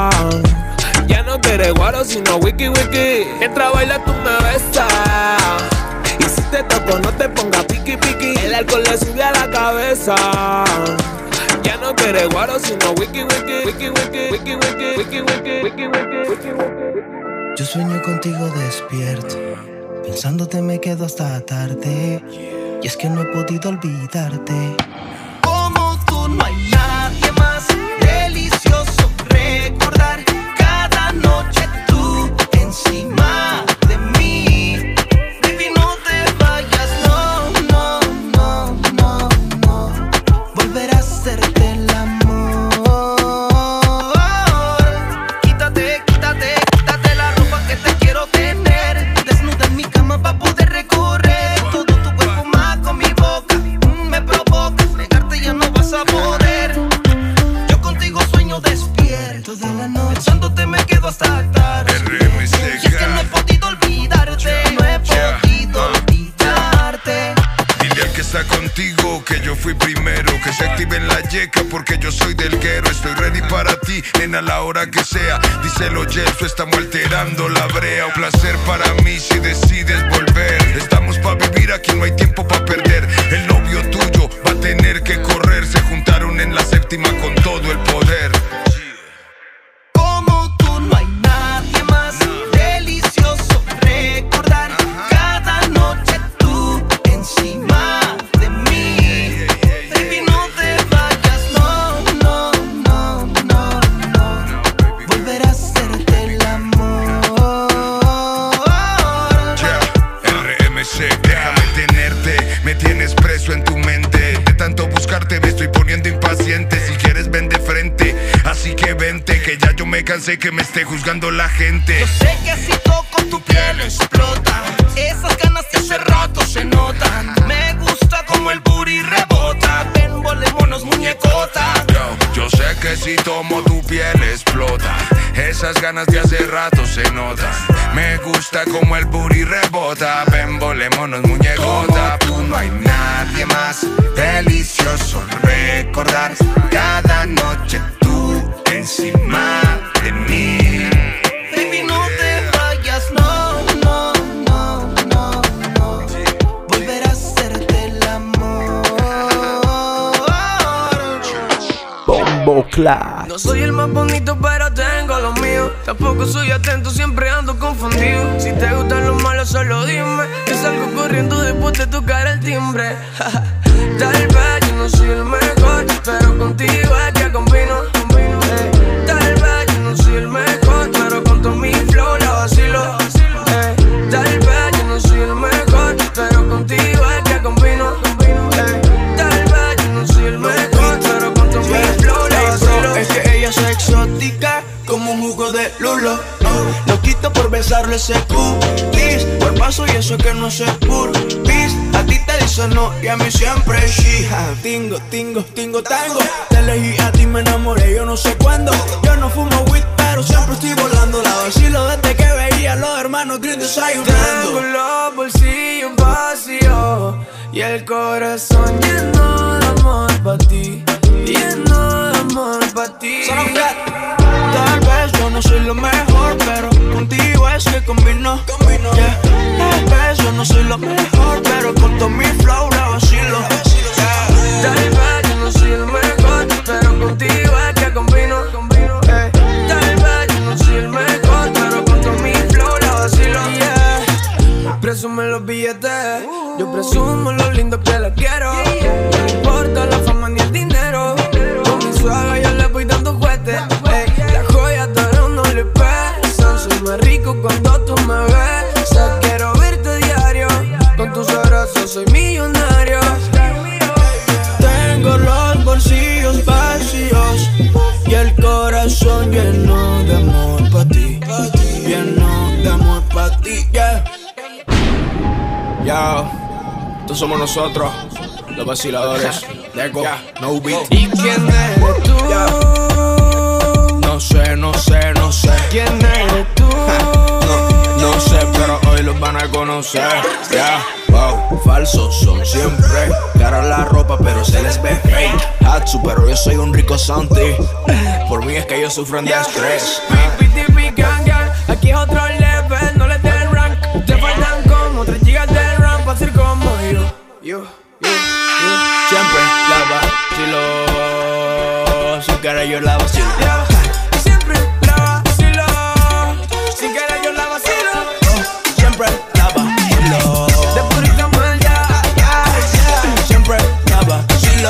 Ya no quieres guaro sino wiki wiki. Mientras bailas tú me besas. Y si te toco no te pongas piqui piqui. El alcohol le sube a la cabeza. Ya no quieres guaro sino wiki wiki. Wiki wiki, wiki wiki, wiki wiki, wiki wiki, wiki wiki. Yo sueño contigo despierto, pensándote me quedo hasta tarde. Y es que no he podido olvidarte. Como tú no hay nadie más delicioso. Recordar cada noche tú encima de mí. Baby, no te vayas, no, no, no, no, no. Volver a hacerte el amor. la yeca porque yo soy del guero. Estoy ready para ti, nena, a la hora que sea. Díselo, Yeso, estamos alterando la brea. Un placer para mí si decides volver. Estamos pa' vivir, aquí no hay tiempo pa' perder. El novio tuyo va a tener que correr. Se juntaron en la séptima con todo el poder. Como tú no hay nadie más. Delicioso recordar cada noche tú encima de mí. Baby, no te vayas, no, no, no, no, no. Volver a hacerte el amor. Yeah, R M C, déjame tenerte. Me tienes preso en tu mente. De tanto buscarte me estoy poniendo impaciente. Si quieres ven de frente, así que vente, que ya yo me cansé que me esté juzgando la gente. Yo sé que si toco tu piel explota. Esas ganas de hace rato se notan. Me gusta como el booty rebota. Ven, volémonos muñecota. Yo, yo sé que si tomo tu piel explota. Esas ganas de hace rato se notan. Me gusta como el booty rebota. Ven, volémonos muñecota. Como tú no hay nadie más. Delicioso recordar cada noche tú encima de mí. Baby, no te vayas, no, no, no, no, no. Volver a hacerte el amor. Bombo Clap. No soy el más bonito, pero tengo lo mío. Tampoco soy atento, siempre ando confundido. Si te gustan los malos, solo dime. Que salgo corriendo después de tocar el timbre. Tal vez yo no soy el mejor, pero contigo es que combino. Eh, Tal vez yo no soy el mejor, pero con todo mi flow la vacilo. Eh, Tal vez yo no soy el mejor, pero contigo es que combino. Eh, Tal vez yo no soy el mejor, pero con todo mi flow la vacilo. Es que ella es exótica como un jugo de lulo. No, lo quito por besarle ese cutis. Por paso y eso que no se purpis. A ti te dice no y a mí siempre sí. Tingo, tingo, tingo, tango. Te elegí a ti, me enamoré, yo no sé cuándo. Yo no fumo weed, pero siempre estoy volando. La vacilo desde que veía a los hermanos Green desayunando. Tengo los bolsillos vacíos y el corazón lleno de amor pa' ti. Lleno de amor pa' ti. Tal vez yo no soy lo mejor, pero contigo es que combino. Yeah. Tal vez yo no soy lo mejor, pero con todo mi flow la vacilo. Yeah. Tal vez yo no soy el mejor, pero contigo es que combino. Eh, Tal vez yo no soy el mejor, pero con todo mi flow la vacilo. Yeah. Presume los billetes, yo presumo lo lindo que la quiero. No me importa la fama ni el dinero. Con mi suaga yo le voy dando juguetes. Las joyas de oro no le pesan. Soy más rico cuando tú me besas. Quiero verte diario. Con tus abrazos soy millonario. Tengo los bolsillos vacíos y el corazón lleno de amor pa' ti. Lleno de amor pa' ti, yeah. Yo, estos somos nosotros, los vaciladores. Deco, no beat. ¿Y quién eres tú? No sé, no sé, no sé. ¿Quién eres tú? No, no sé, pero hoy los van a conocer. Yeah, wow, falsos son siempre. Cara la ropa, pero se les ve fake. Hatsu, pero yo soy un rico Santi. Por mí es que ellos sufren de estrés. Aquí es otro level, no les den rank. Te faltan como tres gigas de RAM para ser como yo. Yo, yo, yo. Siempre la vacilo. Sin querer yo la vacilo. Siempre la vacilo. Sin querer yo la vacilo. Siempre la vacilo. De purita mal, ya, ya, ya. Siempre la vacilo.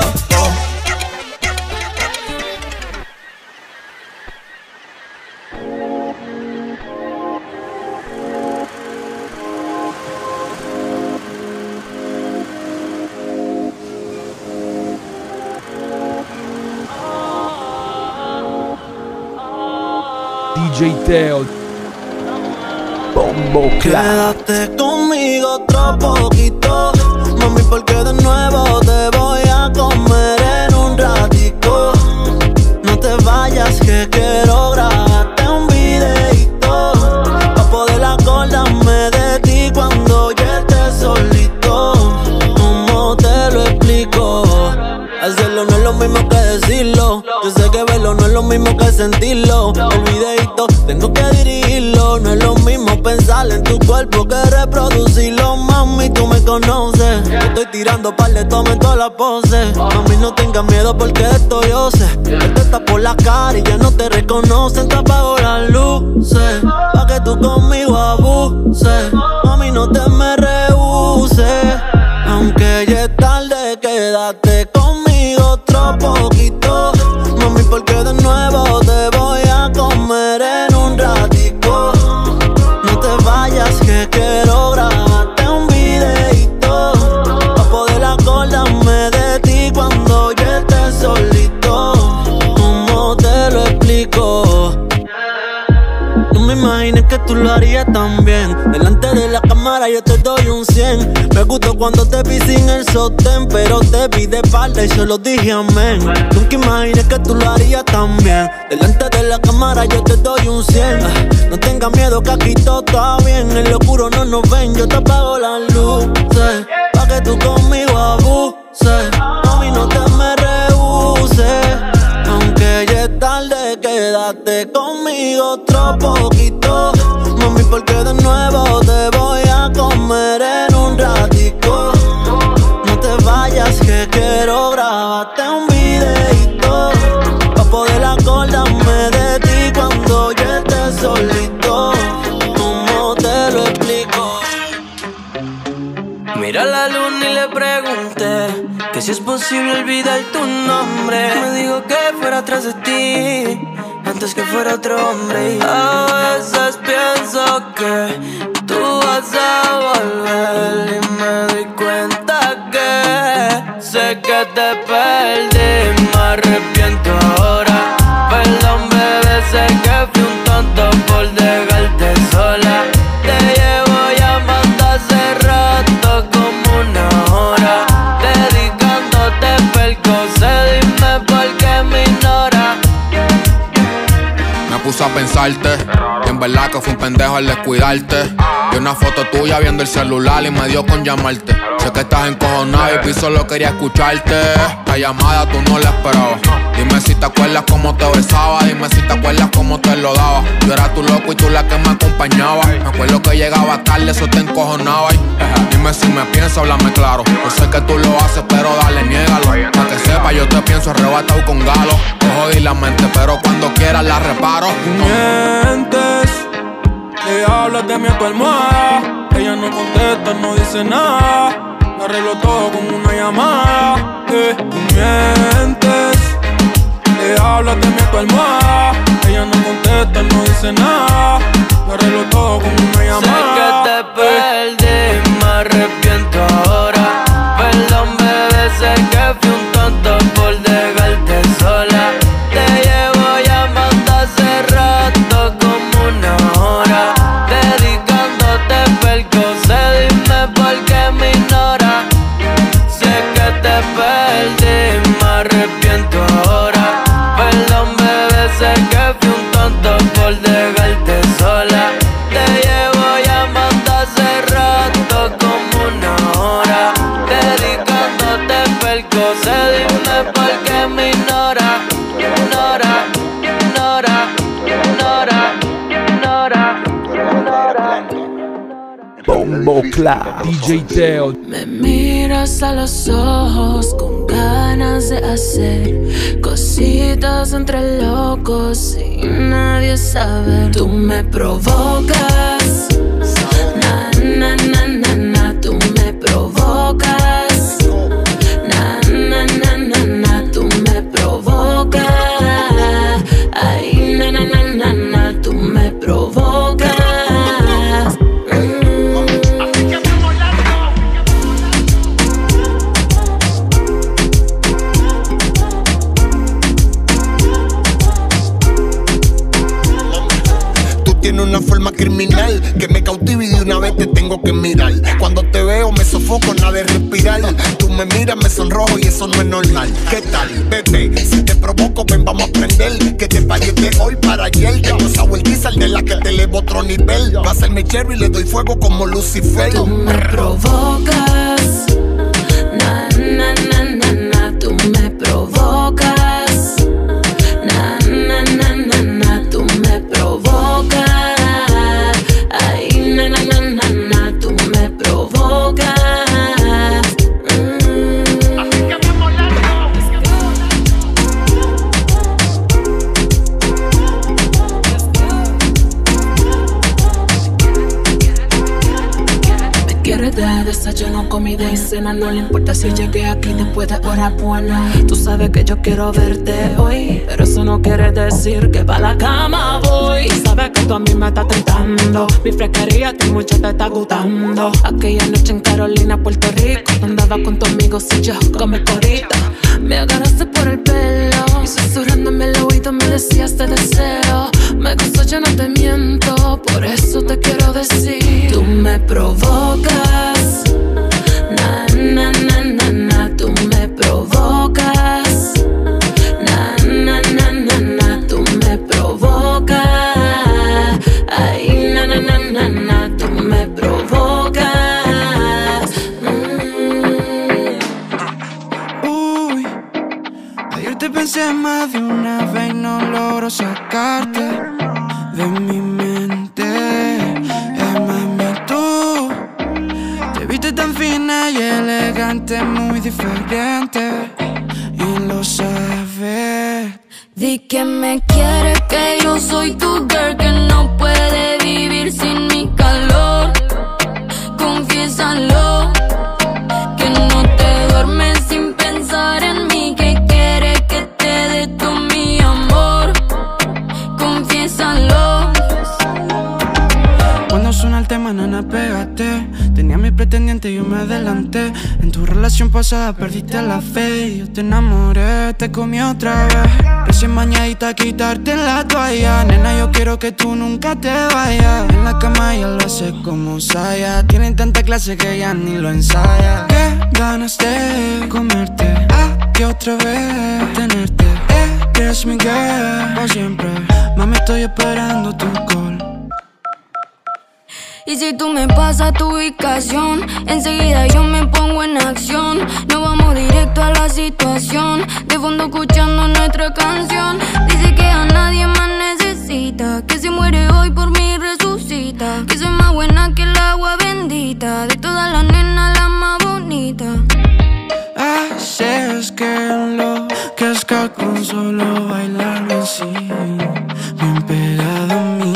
D J Teo, Bombo Clap. Quédate conmigo otro poquito, mami, porque de nuevo te voy a comer en un ratico. No te vayas que quiero grabarte un videito, pa' poder acordarme de ti cuando yo esté solito. ¿Cómo te lo explico? Hacerlo no es lo mismo mismo que decirlo. Yo sé que verlo no es lo mismo que sentirlo. El videito tengo que dirigirlo. No es lo mismo pensar en tu cuerpo que reproducirlo. Mami, tú me conoces. Estoy tirando par de tomas en todas las poses. Mami, no tengas miedo porque esto yo sé. Esto está por la cara y ya no te reconocen. Te apago las luces pa' que tú conmigo abuses. Mami, no te me rehuses. Aunque ya es tarde, quédate conmigo otro poquito. Mami, porque de nuevo te voy a comer en un ratico. No te vayas que quiero grabarte un videito pa' poder acordarme de ti cuando yo esté solito. ¿Cómo te lo explico? No me imaginé que tú lo harías también. Delante de la cámara yo te doy un cien. Me gustó cuando te vi sin el sostén, pero te vi de espalda y solo dije amén. Nunca imaginé que tú lo harías también. Delante de la cámara yo te doy un cien. No tengas miedo que aquí todo está bien. En lo oscuro no nos ven, yo te apago las luces pa' que tú conmigo abuses. Mami, no te me rehuses. Aunque ya es tarde, quédate conmigo otro poquito. Mami, porque de nuevo te voy a comer en un ratico. No te vayas que quiero grabarte un videito pa' poder acordarme de ti cuando yo esté solito. ¿Cómo te lo explico? Mira la luna y le pregunté que si es posible olvidar tu nombre. Me dijo que fuera atrás de ti antes que fuera otro hombre. Y a veces pienso que tú vas a volver y me doy cuenta que sé que te perdí. Me arrepiento ahora. Perdón, bebé, sé que fui un tonto por dejarte sola. Te llevo llamando hace rato como una hora, dedicándote percocet. Dime por qué me ignora. Me puse a pensarte y en verdad que fui un pendejo al descuidarte. Vi una foto tuya viendo el celular y me dio con llamarte. Sé que estás encojonado y solo quería escucharte. La llamada tú no la esperabas. Dime si te acuerdas cómo te besaba. Dime si te acuerdas cómo te lo daba. Yo era tu loco y tú la que me acompañaba. Me acuerdo que llegaba tarde, eso te encojonaba. Y dime si me piensas, háblame claro. Yo sé que tú lo haces, pero dale, niégalo. Pa' que sepa, yo te pienso arrebatado con galo. Te jodí la mente, pero cuando quieras la reparo. Mientes, le hablas de mí a tu almohada. Ella no contesta, no dice nada. Arreglo todo con una llamada. Eh, tú mientes, le hablas de mí a tu almohada. Ella no contesta, no dice nada. Arreglo todo con una llamada. Sé que te perdí, me arrepiento ahora. Perdón, bebé, sé que fui un tonto por dejarte sola. Te llevo llamando hace rato como una hora, dedicándote percocet. Dime por qué me ignora. Sé que te perdí, me arrepiento ahora. Perdón, bebé, sé que fui un tonto por dejarte sola. Te llevo llamando hace rato como una hora, dedicándote percocet. Dime por qué me ignora. Ignora, ignora, ignora, ignora, ignora. Bombo Clap, D J Teo. Me miras a los ojos con ganas de hacer cositas entre locos sin nadie saber. Tú me provocas, na na na na na. Tú me provocas, na na na na na. Tú me provocas, ay na na na na na. Tú me provocas. Una forma criminal que me cautiva y de una vez te tengo que mirar. Cuando te veo me sofoco, nada de respirar. Tú me miras, me sonrojo y eso no es normal. ¿Qué tal, bebé? Si te provoco, ven, vamos a aprender. Que te pagues de hoy para ayer. Que no sabe el diesel de la que te elevo otro nivel. Va a hacerme cherry y le doy fuego como Lucifer. Tú me provocas, na na na na na. Tú me provocas. desayuno, comida y cena. No le importa si llegué aquí después de hora buena. Tú sabes que yo quiero verte hoy, pero eso no quiere decir que pa' la cama voy. Sabes que tú a mí me estás tentando, mi fresquería a ti mucho te está gustando. Aquella noche en Carolina, Puerto Rico, andaba con tu amigo y yo con mi corita. Me agarraste por el pelo y susurrándome el oído me decías te deseo. Me gustó, yo no te miento, por eso te quiero decir. Tú me provocas, na na na na na. Tú me provocas, na na na na na. Tú me provocas, ay na na na na na. Tú me provocas. Mm. Uy, ayer te pensé más de una vez y no logro sacarte de mi mente. Eh, mami, tú te viste tan fina y elegante, muy diferente, y lo sabes. Di que me quieres, que yo soy tu girl, que no puede vivir sin mi calor. Confiésalo, que no te duermes sin pensar en mí, que quieres que te dé todo mi amor. Confiésalo. Cuando suena el tema, nana, pégate. Tenía mi pretendiente y yo me adelanté. En tu relación pasada perdiste la fe y yo te enamoré, te comí otra vez. Recién bañadita, quitarte la toalla. Nena, yo quiero que tú nunca te vayas. En la cama ella lo hace como Saya. Tienen tanta clase que ya ni lo ensaya. Qué ganas de comerte, ah, que otra vez tenerte. Eres mi girl, por siempre. Mami, estoy esperando tu call. Y si tú me pasas tu ubicación, enseguida yo me pongo en acción. Nos vamos directo a la situación, de fondo escuchando nuestra canción. Dice que a nadie más necesita, que si muere hoy por mí resucita, que soy más buena que el agua bendita, de todas las nenas la más bonita. Así es que lo que es que con solo bailarme así, bien pegado a mí.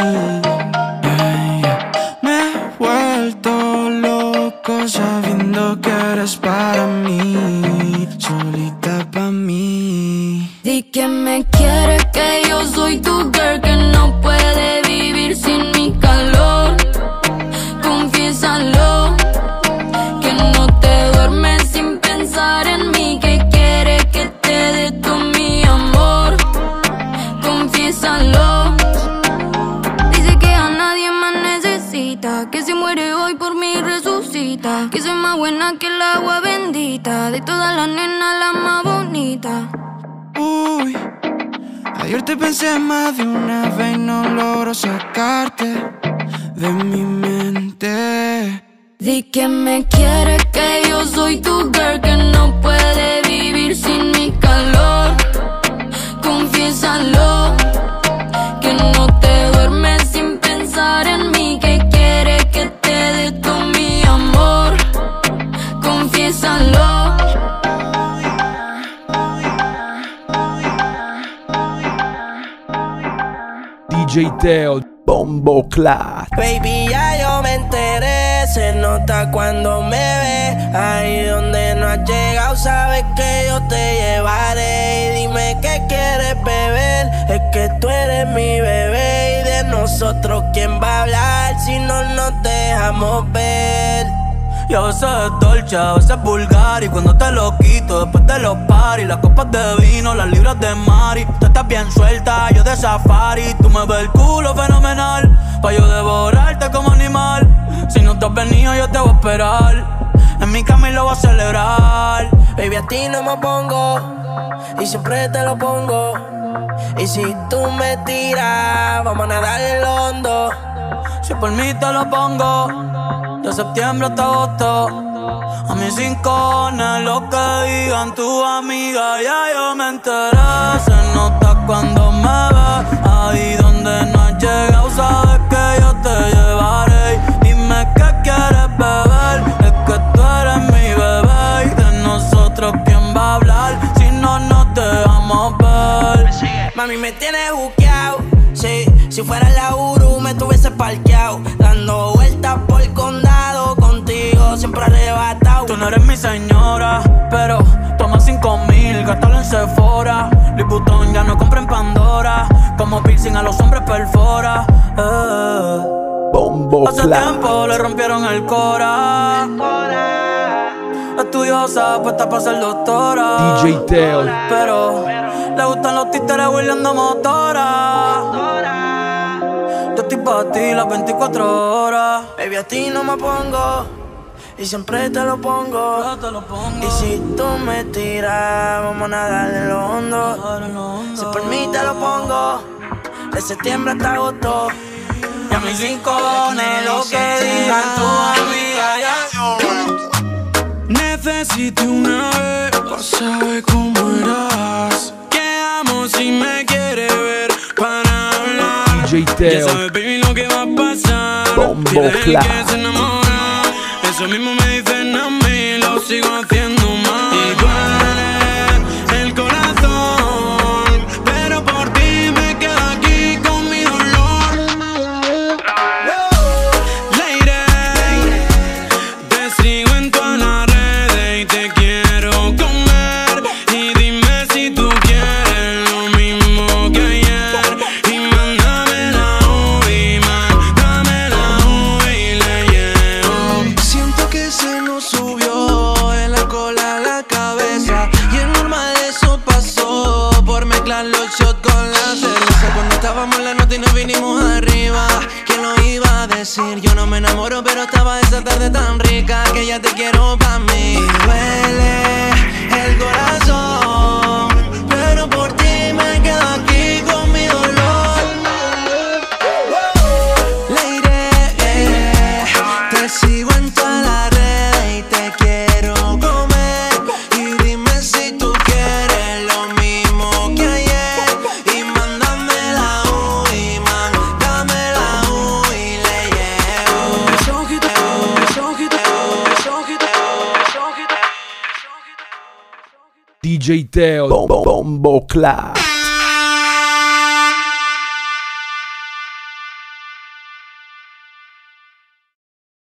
Vuelto loco sabiendo que eres para mí, solita pa' mí. Di que me quieres, que yo soy tu girl, que no puede vivir sin mi calor. Confiésalo, que no te duermes sin pensar en mí, que quieres que te dé todo mi amor. Confiésalo. Que si muere hoy por mí resucita, que soy más buena que el agua bendita, de todas las nenas la más bonita. Uy, ayer te pensé más de una vez y no logro sacarte de mi mente. Di que me quieres, que yo soy tu girl, que no puede vivir sin mi calor. Confiésalo, que no te duermes sin pensar en mí, que quieres que te dé todo mi amor. Confiésalo. D J Teo, Bombo Clat. Baby, ya yo me enteré, se nota cuando me ves. Ahí donde no has llegado, sabes que yo te llevaré. Y dime qué quieres beber, es que tú eres mi bebé. Y de nosotros, ¿quién va a hablar si no nos dejamos ver? Y a veces es dolce, a veces es vulgar. Y cuando te lo quito, después de los paris, las copas de vino, las libras de mari. Tú estás bien suelta, yo de safari. Tú me ves el culo fenomenal, pa' yo devorarte como animal. Si no te has venido, yo te voy a esperar. En mi cama y lo voy a celebrar. Baby, a ti no me pongo, y siempre te lo pongo. Y si tú me tiras, vamos a nadar en lo hondo. Si por mí te lo pongo, de septiembre hasta agosto. A mis rincones, lo que digan tus amigas, ya yo me enteré. Se nota cuando me ves, ahí donde no has llegado, sabes que yo te llevaré. Dime qué quieres beber, es que tú eres mi bebé. Y de nosotros, ¿quién va a hablar si no nos dejamos ver? Mami, me tienes buqueado, sí. Si fuera la Uru me tuviese parqueado, dando vueltas por el condado contigo. contigo siempre arrebatado. Tú no eres mi señora, pero toma cinco mil, gástalo en Sephora. Louis Vuitton ya no compra en Pandora. Como piercing a los hombres perfora. eh. Bombo Hace Clap. tiempo le rompieron el cora. Estudiosa, puesta para ser doctora. D J Teo. Pero le gustan los títeres huirleando motora. Yo estoy pa' ti las veinticuatro horas. Baby, a ti no me pongo y siempre te lo pongo. Y si tú me tiras, vamos a nadar en lo hondo. Si por mí te lo pongo, de septiembre hasta agosto. Y a mis cinco cojones lo que digan tu amiga ya. Necesité una vez para saber cómo eras. Quedamos si me quieres ver para hablar. D J Ya Teo. sabes, baby, lo que va a pasar. Bombo Pide el Clap. que se enamora. Eso mismo me dicen a mí, lo sigo haciendo mal. Y duele el corazón, pero por ti me quedo aquí con mi dolor. Lady, te sigo en todas las redes y te quiero comer. Y dime si tú quieres lo mismo que ayer. Y mándame la U I, mándame la U I y le llevo. Siento que se nos subió el alcohol a la cabeza. Y es normal, eso pasó por mezclar los shots con la cerveza. Cuando estábamos en la nota y nos vinimos arriba, ¿quién lo iba a decir? Yo no me enamoro, pero estaba esa tarde tan rica que ya te quiero pa' mí. Y duele el corazón, pero por ti me quedo aquí con mi dolor. Lady, te sigo en todas las redes y te quiero comer. Y dime si tú quieres lo mismo que ayer. Y mándame la U I, mándame la U I y le llevo. Esos ojitos, esos ojitos, esos ojitos, esos ojitos. D J Teo. Bombo Clap.